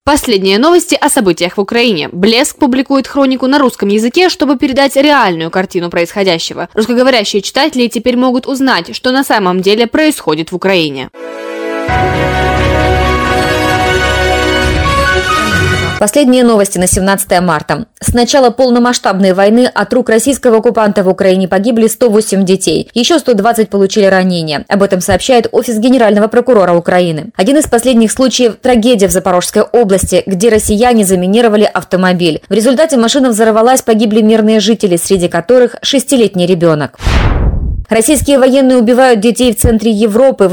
Последние новости о событиях в Украине. Блеск публикует хронику на русском языке, чтобы передать реальную картину происходящего. Русскоговорящие читатели теперь могут узнать, что на самом деле происходит в Украине. Последние новости на 17 марта. С начала полномасштабной войны от рук российского оккупанта в Украине погибли 108 детей. Еще 120 получили ранения. Об этом сообщает Офис Генерального прокурора Украины. Один из последних случаев – трагедия в Запорожской области, где россияне заминировали автомобиль. В результате машина взорвалась, погибли мирные жители, среди которых 6-летний ребенок. Российские военные убивают детей в центре Европы в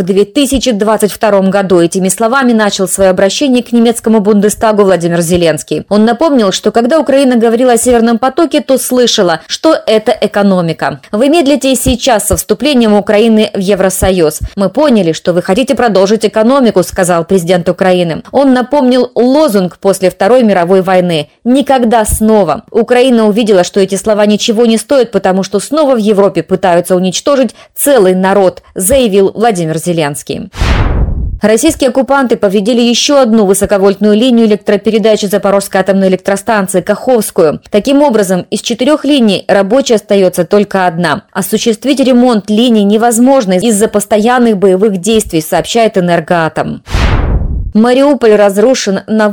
2022 году. Этими словами начал свое обращение к немецкому Бундестагу Владимир Зеленский. Он напомнил, что когда Украина говорила о Северном потоке, то слышала, что это экономика. Вы медлите и сейчас со вступлением Украины в Евросоюз. Мы поняли, что вы хотите продолжить экономику, сказал президент Украины. Он напомнил лозунг после Второй мировой войны «Никогда снова». Украина увидела, что эти слова ничего не стоят, потому что снова в Европе пытаются уничтожить целый народ, заявил Владимир Зеленский. Российские оккупанты повредили еще одну высоковольтную линию электропередачи Запорожской атомной электростанции Каховскую. Таким образом, из 4 линий рабочей остается только одна. Осуществить ремонт линий невозможно из-за постоянных боевых действий, сообщает Энергоатом. Мариуполь разрушен на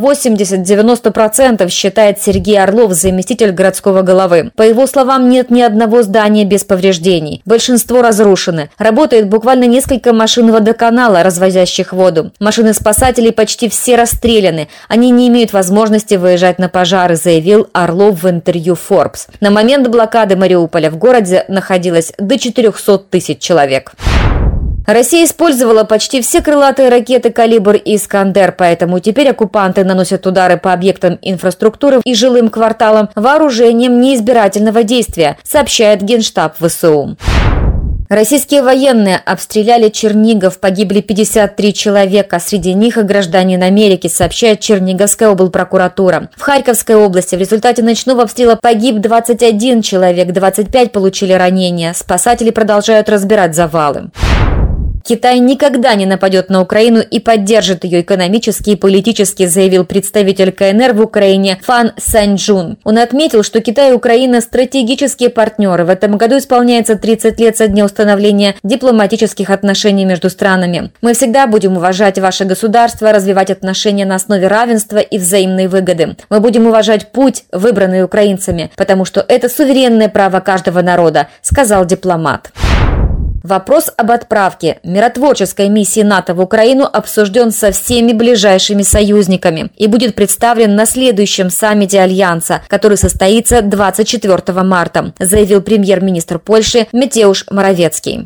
80-90%, считает Сергей Орлов, заместитель городского головы. По его словам, нет ни одного здания без повреждений. Большинство разрушены. Работает буквально несколько машин водоканала, развозящих воду. Машины спасателей почти все расстреляны. Они не имеют возможности выезжать на пожары, заявил Орлов в интервью Forbes. На момент блокады Мариуполя в городе находилось до 400 тысяч человек. Россия использовала почти все крылатые ракеты «Калибр» и «Искандер», поэтому теперь оккупанты наносят удары по объектам инфраструктуры и жилым кварталам вооружением неизбирательного действия, сообщает Генштаб ВСУ. Российские военные обстреляли Чернигов, погибли 53 человека, среди них и гражданин Америки, сообщает Черниговская облпрокуратура. В Харьковской области в результате ночного обстрела погиб 21 человек, 25 получили ранения. Спасатели продолжают разбирать завалы. Китай никогда не нападет на Украину и поддержит ее экономически и политически, заявил представитель КНР в Украине Фан Саньчжун. Он отметил, что Китай и Украина – стратегические партнеры. В этом году исполняется 30 лет со дня установления дипломатических отношений между странами. Мы всегда будем уважать ваше государство, развивать отношения на основе равенства и взаимной выгоды. Мы будем уважать путь, выбранный украинцами, потому что это суверенное право каждого народа, сказал дипломат. Вопрос об отправке миротворческой миссии НАТО в Украину обсужден со всеми ближайшими союзниками и будет представлен на следующем саммите Альянса, который состоится 24 марта, заявил премьер-министр Польши Матеуш Моровецкий.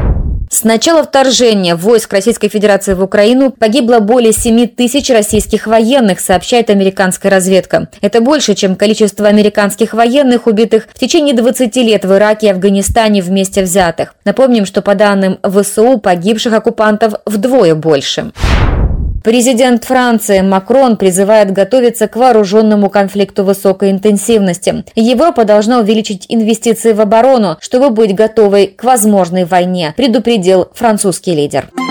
С начала вторжения войск Российской Федерации в Украину погибло более 7 тысяч российских военных, сообщает американская разведка. Это больше, чем количество американских военных, убитых в течение 20 лет в Ираке и Афганистане вместе взятых. Напомним, что по данным ВСУ погибших оккупантов вдвое больше. Президент Франции Макрон призывает готовиться к вооруженному конфликту высокой интенсивности. Европа должна увеличить инвестиции в оборону, чтобы быть готовой к возможной войне, предупредил французский лидер.